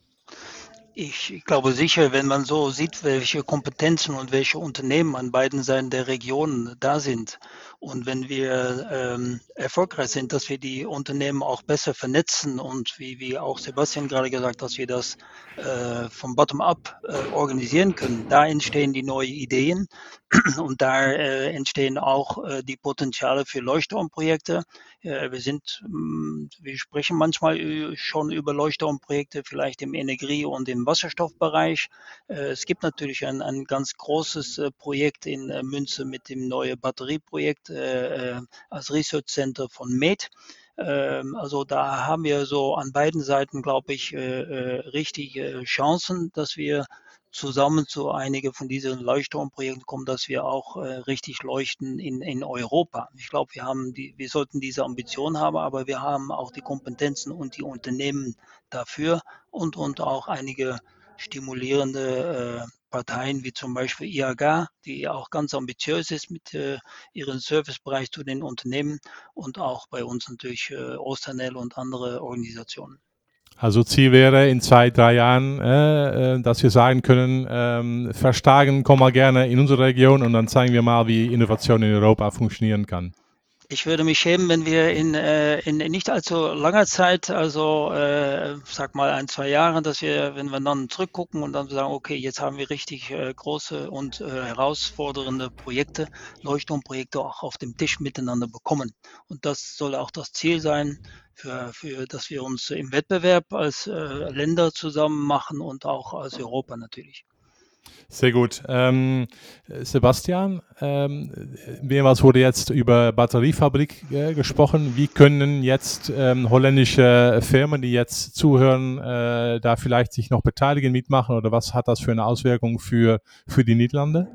Ich glaube sicher, wenn man so sieht, welche Kompetenzen und welche Unternehmen an beiden Seiten der Region da sind und wenn wir ähm, erfolgreich sind, dass wir die Unternehmen auch besser vernetzen und wie, wie auch Sebastian gerade gesagt, dass wir das äh, vom Bottom-up äh, organisieren können, da entstehen die neuen Ideen und da äh, entstehen auch äh, die Potenziale für Leuchtturmprojekte. Äh, wir sind, mh, wir sprechen manchmal ü- schon über Leuchtturmprojekte, vielleicht im Energie- und im Wasserstoffbereich. Äh, es gibt natürlich ein, ein ganz großes äh, Projekt in äh, Münze mit dem neuen Batterieprojekt äh, äh, als Research Center von M E D. Ähm, Also da haben wir so an beiden Seiten, glaube ich, äh, äh, richtige Chancen, dass wir zusammen zu einigen von diesen Leuchtturmprojekten kommen, dass wir auch äh, richtig leuchten in, in Europa. Ich glaube, wir haben die, wir sollten diese Ambition haben, aber wir haben auch die Kompetenzen und die Unternehmen dafür und, und auch einige stimulierende äh, Parteien wie zum Beispiel I A G A, die auch ganz ambitiös ist mit äh, ihrem Servicebereich zu den Unternehmen und auch bei uns natürlich äh, Ostanel und andere Organisationen. Also Ziel wäre in zwei, drei Jahren, äh, äh, dass wir sagen können, ähm, verstärken, komm mal gerne in unsere Region und dann zeigen wir mal, wie Innovation in Europa funktionieren kann. Ich würde mich schämen, wenn wir in, äh, in nicht allzu langer Zeit, also äh, sag mal ein, zwei Jahren, dass wir, wenn wir dann zurückgucken und dann sagen, okay, jetzt haben wir richtig äh, große und äh, herausfordernde Projekte, Leuchtturmprojekte auch auf dem Tisch miteinander bekommen. Und das soll auch das Ziel sein, für, für, dass wir uns im Wettbewerb als äh, Länder zusammen machen und auch als Europa natürlich. Sehr gut. Ähm, Sebastian, ähm, mehrmals wurde jetzt über Batteriefabrik äh, gesprochen. Wie können jetzt ähm, holländische Firmen, die jetzt zuhören, äh, da vielleicht sich noch beteiligen, mitmachen oder was hat das für eine Auswirkung für, für die Niederlande?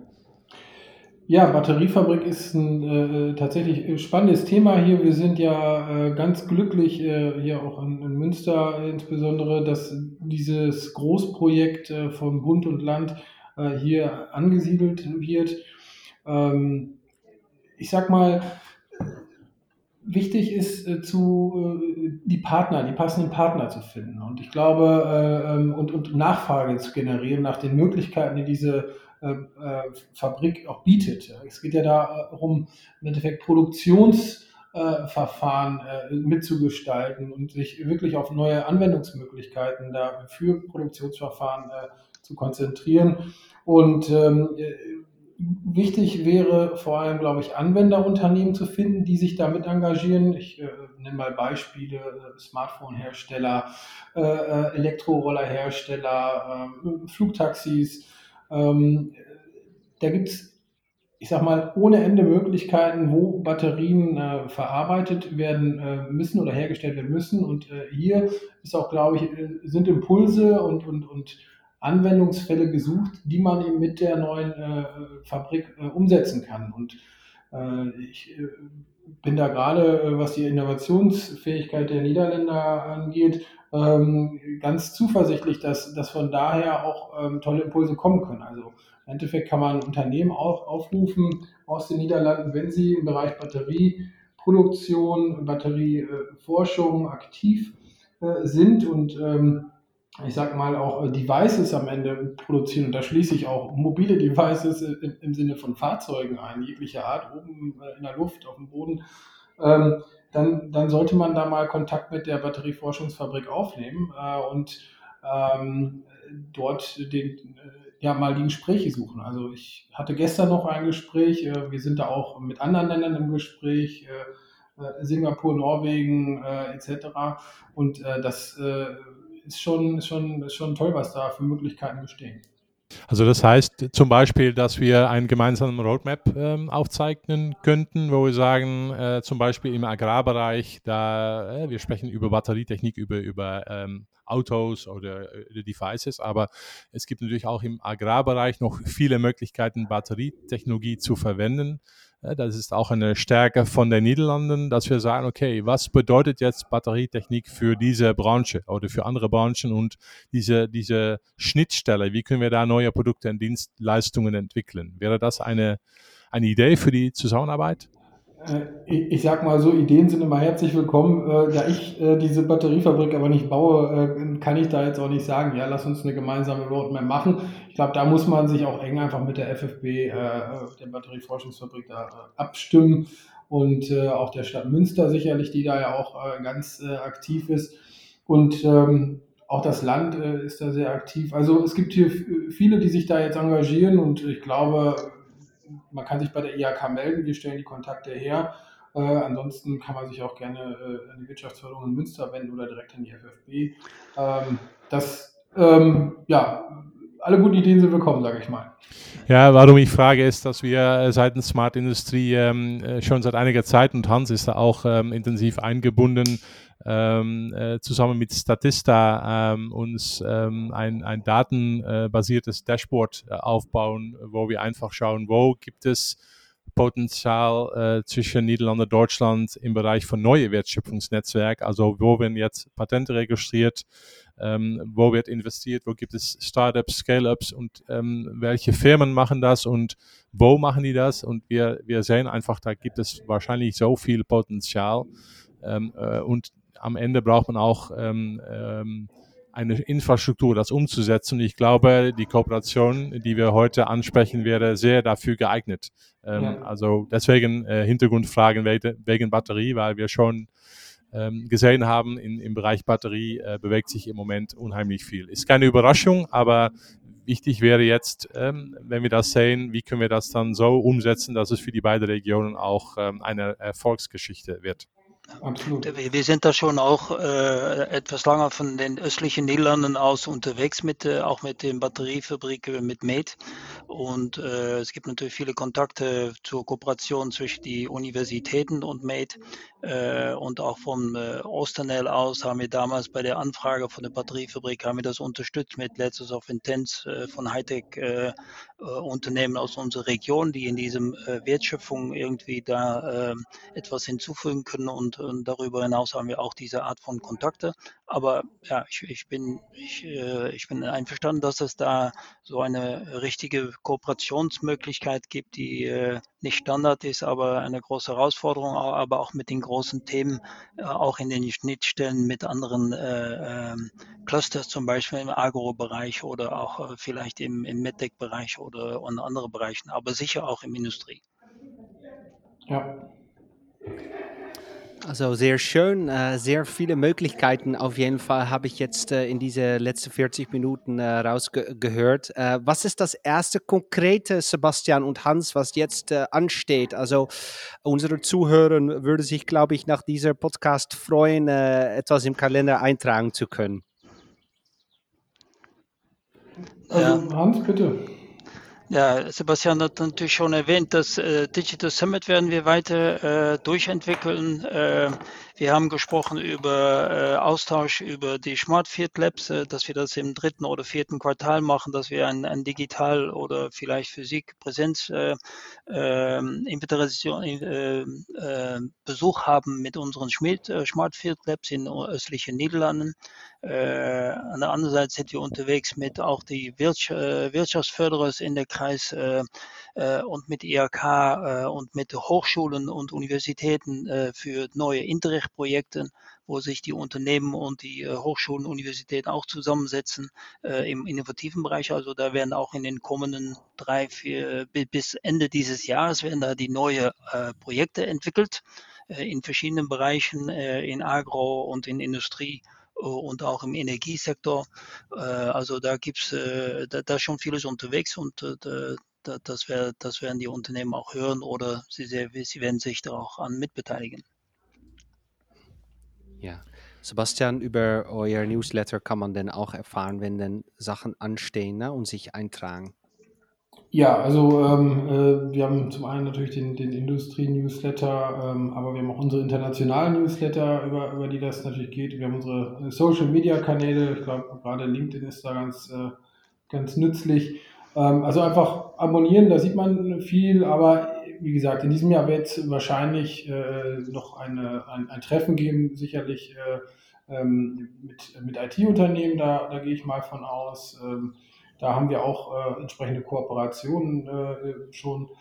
Ja, Batteriefabrik ist ein äh, tatsächlich spannendes Thema hier. Wir sind ja äh, ganz glücklich, äh, hier auch in, in Münster insbesondere, dass dieses Großprojekt äh, von Bund und Land äh, hier angesiedelt wird. Ähm, ich sag mal, wichtig ist äh, zu äh, die Partner, die passenden Partner zu finden. Und ich glaube, äh, ähm, und, und Nachfrage zu generieren nach den Möglichkeiten, die diese äh, äh, Fabrik auch bietet. Es geht ja darum, im Endeffekt Produktionsverfahren äh, mitzugestalten und sich wirklich auf neue Anwendungsmöglichkeiten da für Produktionsverfahren äh, zu konzentrieren. Und ähm, wichtig wäre vor allem, glaube ich, Anwenderunternehmen zu finden, die sich damit engagieren. Ich äh, nenne mal Beispiele, äh, Smartphone-Hersteller, äh, äh, Elektrorollerhersteller, äh, Flugtaxis. Ähm, da gibt es, ich sag mal, ohne Ende Möglichkeiten, wo Batterien äh, verarbeitet werden äh, müssen oder hergestellt werden müssen. Und äh, hier ist auch, glaube ich, äh, sind Impulse und, und, und Anwendungsfälle gesucht, die man eben mit der neuen äh, Fabrik äh, umsetzen kann. Und äh, ich äh, bin da gerade, äh, was die Innovationsfähigkeit der Niederländer angeht, ähm, ganz zuversichtlich, dass, dass von daher auch ähm, tolle Impulse kommen können. Also im Endeffekt kann man Unternehmen auch aufrufen aus den Niederlanden, wenn sie im Bereich Batterieproduktion, Batterieforschung aktiv äh, sind und ähm, ich sag mal auch äh, Devices am Ende produzieren. Und da schließe ich auch mobile Devices im, im Sinne von Fahrzeugen ein, jeglicher Art, oben äh, in der Luft, auf dem Boden. Ähm, dann, dann sollte man da mal Kontakt mit der Batterieforschungsfabrik aufnehmen äh, und ähm, dort den, äh, ja, mal die Gespräche suchen. Also ich hatte gestern noch ein Gespräch, äh, wir sind da auch mit anderen Ländern im Gespräch, äh, äh, Singapur, Norwegen äh, et cetera. Und äh, das äh, ist schon, ist schon, ist schon toll, was da für Möglichkeiten bestehen. Also das heißt zum Beispiel, dass wir einen gemeinsamen Roadmap ähm, aufzeichnen könnten, wo wir sagen, äh, zum Beispiel im Agrarbereich, da äh, wir sprechen über Batterietechnik, über, über ähm, Autos oder äh, Devices, aber es gibt natürlich auch im Agrarbereich noch viele Möglichkeiten, Batterietechnologie zu verwenden. Äh, das ist auch eine Stärke von den Niederlanden, dass wir sagen, okay, was bedeutet jetzt Batterietechnik für diese Branche oder für andere Branchen und diese, diese Schnittstelle, wie können wir da neue Produkte und Dienstleistungen entwickeln? Wäre das eine, eine Idee für die Zusammenarbeit? Ich, ich sag mal so, Ideen sind immer herzlich willkommen. Äh, da ich äh, diese Batteriefabrik aber nicht baue, äh, kann ich da jetzt auch nicht sagen, ja, lass uns eine gemeinsame Roadmap machen. Ich glaube, da muss man sich auch eng einfach mit der F F B, äh, der Batterieforschungsfabrik, da äh, abstimmen und äh, auch der Stadt Münster sicherlich, die da ja auch äh, ganz äh, aktiv ist. Und ähm, auch das Land äh, ist da sehr aktiv. Also es gibt hier viele, die sich da jetzt engagieren und ich glaube, man kann sich bei der I H K melden, wir stellen die Kontakte her. Äh, ansonsten kann man sich auch gerne äh, an die Wirtschaftsförderung in Münster wenden oder direkt an die F F B. Ähm, das, ähm, ja, alle guten Ideen sind willkommen, sage ich mal. Ja, warum ich frage, ist, dass wir seitens Smart Industrie ähm, schon seit einiger Zeit, und Hans ist da auch ähm, intensiv eingebunden, ähm, äh, zusammen mit Statista ähm, uns ähm, ein, ein datenbasiertes Dashboard äh, aufbauen, wo wir einfach schauen, wo gibt es Potenzial äh, zwischen Niederlande und Deutschland im Bereich von neue Wertschöpfungsnetzwerk, also wo werden jetzt Patente registriert, ähm, wo wird investiert, wo gibt es Startups, Scale-Ups und ähm, welche Firmen machen das und wo machen die das, und wir, wir sehen einfach, da gibt es wahrscheinlich so viel Potenzial ähm, äh, und am Ende braucht man auch ähm, ähm, eine Infrastruktur, das umzusetzen. Ich glaube, die Kooperation, die wir heute ansprechen, wäre sehr dafür geeignet. Ähm, ja. Also deswegen äh, Hintergrundfragen wegen Batterie, weil wir schon ähm, gesehen haben, in, im Bereich Batterie äh, bewegt sich im Moment unheimlich viel. Ist keine Überraschung, aber wichtig wäre jetzt, ähm, wenn wir das sehen, wie können wir das dann so umsetzen, dass es für die beiden Regionen auch ähm, eine Erfolgsgeschichte wird. Absolut. Wir sind da schon auch äh, etwas länger von den östlichen Niederlanden aus unterwegs, mit, äh, auch mit den Batteriefabriken, mit Mate. Und äh, es gibt natürlich viele Kontakte zur Kooperation zwischen die Universitäten und Mate. Äh, und auch vom äh, Osternel aus haben wir damals bei der Anfrage von der Batteriefabrik haben wir das unterstützt mit Letters of Intent äh, von Hightech äh, äh, Unternehmen aus unserer Region, die in diesem äh, Wertschöpfung irgendwie da äh, etwas hinzufügen können, und, und darüber hinaus haben wir auch diese Art von Kontakte. Aber ja, ich, ich, bin, ich, äh, ich bin einverstanden, dass es da so eine richtige Kooperationsmöglichkeit gibt, die äh, nicht Standard ist, aber eine große Herausforderung, aber auch mit den großen Themen, äh, auch in den Schnittstellen mit anderen äh, äh, Clusters, zum Beispiel im Agro-Bereich oder auch äh, vielleicht im, im MedTech-Bereich oder in anderen Bereichen, aber sicher auch im Industrie. Ja. Also sehr schön, äh, sehr viele Möglichkeiten auf jeden Fall habe ich jetzt äh, in diese letzten vierzig Minuten äh, rausgehört. Äh, was ist das erste konkrete, Sebastian und Hans, was jetzt äh, ansteht? Also unsere Zuhörer würden sich, glaube ich, nach dieser Podcast freuen, äh, etwas im Kalender eintragen zu können. Also Ja. Hans, bitte. Ja, Sebastian hat natürlich schon erwähnt, das äh, Digital Summit werden wir weiter äh, durchentwickeln. Äh, wir haben gesprochen über äh, Austausch über die Smart Field Labs, äh, dass wir das im dritten oder vierten Quartal machen, dass wir ein, ein Digital- oder vielleicht Physik-Präsenz äh, äh, Invitation, äh, äh, Besuch haben mit unseren Schmied, äh, Smart Field Labs in östlichen Niederlanden. Äh, an der anderen Seite sind wir unterwegs mit auch die Wirtsch äh, Wirtschaftsförderers in der Kreis äh, äh, und mit I H K äh, und mit Hochschulen und Universitäten äh, für neue Interreg-Projekte, wo sich die Unternehmen und die äh, Hochschulen und Universitäten auch zusammensetzen äh, im innovativen Bereich. Also da werden auch in den kommenden drei, vier bis Ende dieses Jahres werden da die neue äh, Projekte entwickelt äh, in verschiedenen Bereichen, äh, in Agro und in Industrie und auch im Energiesektor. Also da gibt es da, da schon vieles unterwegs, und da, das, wär, das werden die Unternehmen auch hören, oder sie, sie werden sich da auch an mitbeteiligen. Ja. Sebastian, über euer Newsletter kann man dann auch erfahren, wenn dann Sachen anstehen, ne, und sich eintragen. Ja, also ähm, äh, wir haben zum einen natürlich den, den Industrie-Newsletter, ähm, aber wir haben auch unsere internationalen Newsletter, über, über die das natürlich geht. Wir haben unsere Social-Media-Kanäle, ich glaube gerade LinkedIn ist da ganz, äh, ganz nützlich. Ähm, also einfach abonnieren, da sieht man viel, aber wie gesagt, in diesem Jahr wird es wahrscheinlich äh, noch eine, ein, ein Treffen geben, sicherlich äh, ähm, mit, mit I T-Unternehmen, da, da gehe ich mal von aus. Ähm, Da haben wir auch äh, entsprechende Kooperationen äh, schon.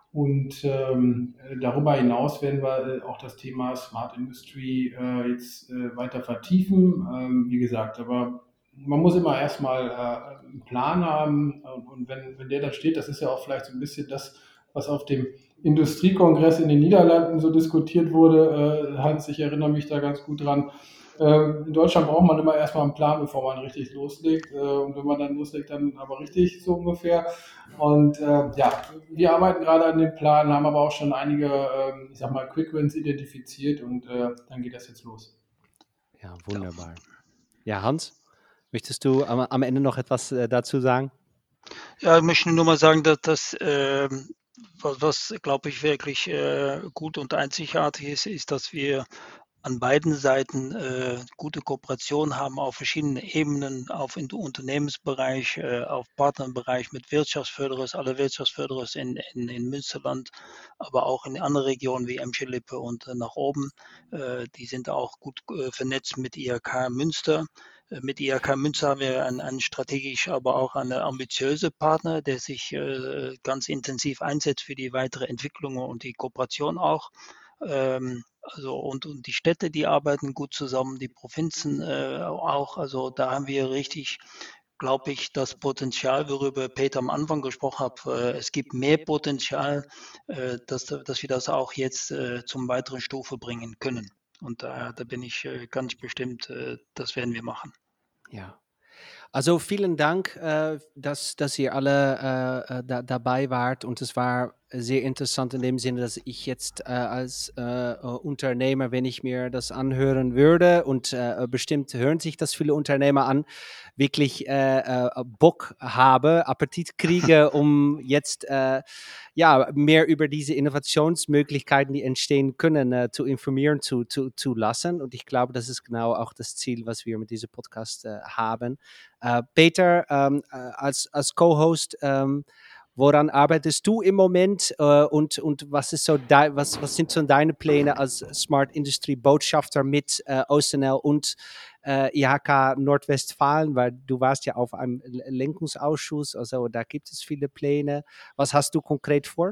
Und ähm, darüber hinaus werden wir äh, auch das Thema Smart Industry äh, jetzt äh, weiter vertiefen. Ähm, wie gesagt, aber man muss immer erstmal äh, einen Plan haben. Und, und wenn, wenn der dann steht, das ist ja auch vielleicht so ein bisschen das, was auf dem Industriekongress in den Niederlanden so diskutiert wurde. Äh, Hans, ich erinnere mich da ganz gut dran. Ähm, in Deutschland braucht man immer erstmal einen Plan, bevor man richtig loslegt. Äh, und wenn man dann loslegt, dann aber richtig so ungefähr. Und äh, ja, wir arbeiten gerade an dem Plan, haben aber auch schon einige, ähm, ich sag mal, Quick Wins identifiziert und äh, dann geht das jetzt los. Ja, wunderbar. Ja, Hans, möchtest du am, am Ende noch etwas äh, dazu sagen? Ja, ich möchte nur mal sagen, dass das, ähm, was, was glaube ich, wirklich äh, gut und einzigartig ist, ist, dass wir an beiden Seiten äh, gute Kooperation haben auf verschiedenen Ebenen, auf in Unternehmensbereich, äh, auf Partnerbereich mit Wirtschaftsförderers, alle Wirtschaftsförderers in, in, in Münsterland, aber auch in anderen Regionen wie Emscher-Lippe und äh, nach oben. Äh, die sind auch gut äh, vernetzt mit I H K Münster. Äh, Mit I H K Münster haben wir einen, einen strategisch, aber auch einen ambitiösen Partner, der sich äh, ganz intensiv einsetzt für die weitere Entwicklung und die Kooperation auch. Ähm, also und, und die Städte, die arbeiten gut zusammen, die Provinzen äh, auch. Also da haben wir richtig, glaube ich, das Potenzial, worüber Peter am Anfang gesprochen hat. Äh, es gibt mehr Potenzial, äh, dass, dass wir das auch jetzt äh, zum weiteren Stufe bringen können. Und da, da bin ich äh, ganz bestimmt, äh, das werden wir machen. Ja. Also vielen Dank, äh, dass, dass ihr alle äh, da, dabei wart und es war sehr interessant in dem Sinne, dass ich jetzt äh, als äh, Unternehmer, wenn ich mir das anhören würde und äh, bestimmt hören sich das viele Unternehmer an, wirklich äh, äh, Bock habe, Appetit kriege, um jetzt äh, ja, mehr über diese Innovationsmöglichkeiten, die entstehen können, äh, zu informieren, zu, zu, zu lassen. Und ich glaube, das ist genau auch das Ziel, was wir mit diesem Podcast äh, haben. Äh, Peter, ähm, äh, als, als Co-Host, ähm, woran arbeitest du im Moment äh, und, und was, ist so de, was, was sind so deine Pläne als Smart Industry Botschafter mit äh, O S N L und äh, I H K Nordwestfalen, weil du warst ja auf einem Lenkungsausschuss, also da gibt es viele Pläne. Was hast du konkret vor?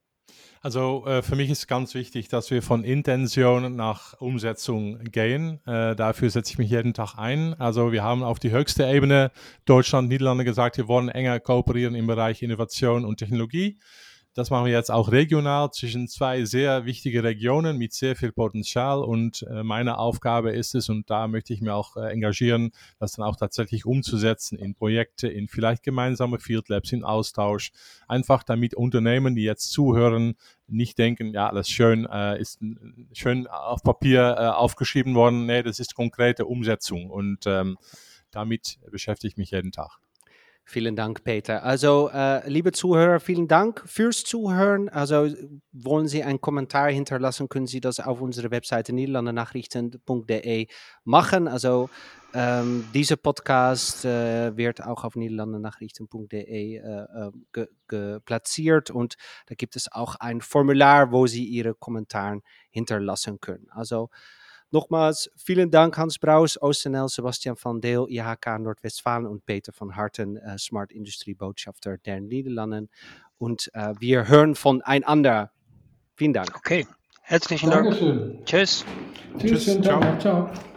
Also äh, für mich ist ganz wichtig, dass wir von Intention nach Umsetzung gehen. Äh, dafür setze ich mich jeden Tag ein. Also wir haben auf die höchste Ebene Deutschland, Niederlande gesagt, wir wollen enger kooperieren im Bereich Innovation und Technologie. Das machen wir jetzt auch regional zwischen zwei sehr wichtige Regionen mit sehr viel Potenzial und äh, meine Aufgabe ist es, und da möchte ich mich auch äh, engagieren, das dann auch tatsächlich umzusetzen in Projekte, in vielleicht gemeinsame Field Labs, in Austausch, einfach damit Unternehmen, die jetzt zuhören, nicht denken, ja, alles schön, äh, ist schön auf Papier äh, aufgeschrieben worden, nee, das ist konkrete Umsetzung und ähm, damit beschäftige ich mich jeden Tag. Vielen Dank, Peter. Also, äh, liebe Zuhörer, vielen Dank fürs Zuhören. Also, wollen Sie einen Kommentar hinterlassen, können Sie das auf unserer Webseite niederlandernachrichten punkt de machen. Also, ähm, dieser Podcast äh, wird auch auf niederlandernachrichten punkt de äh, ge, ge platziert und da gibt es auch ein Formular, wo Sie Ihre Kommentare hinterlassen können. Also, nochmals, vielen Dank Hans Braus, O S N L, Sebastian van Deel, I H K Nordwestfalen und Peter von Harten, äh, Smart Industry Botschafter der Niederlanden. Und äh, wir hören voneinander. Vielen Dank. Okay, herzlichen Dankeschön. Dank. Tschüss. Tschüss, schönen Tag noch. Ciao.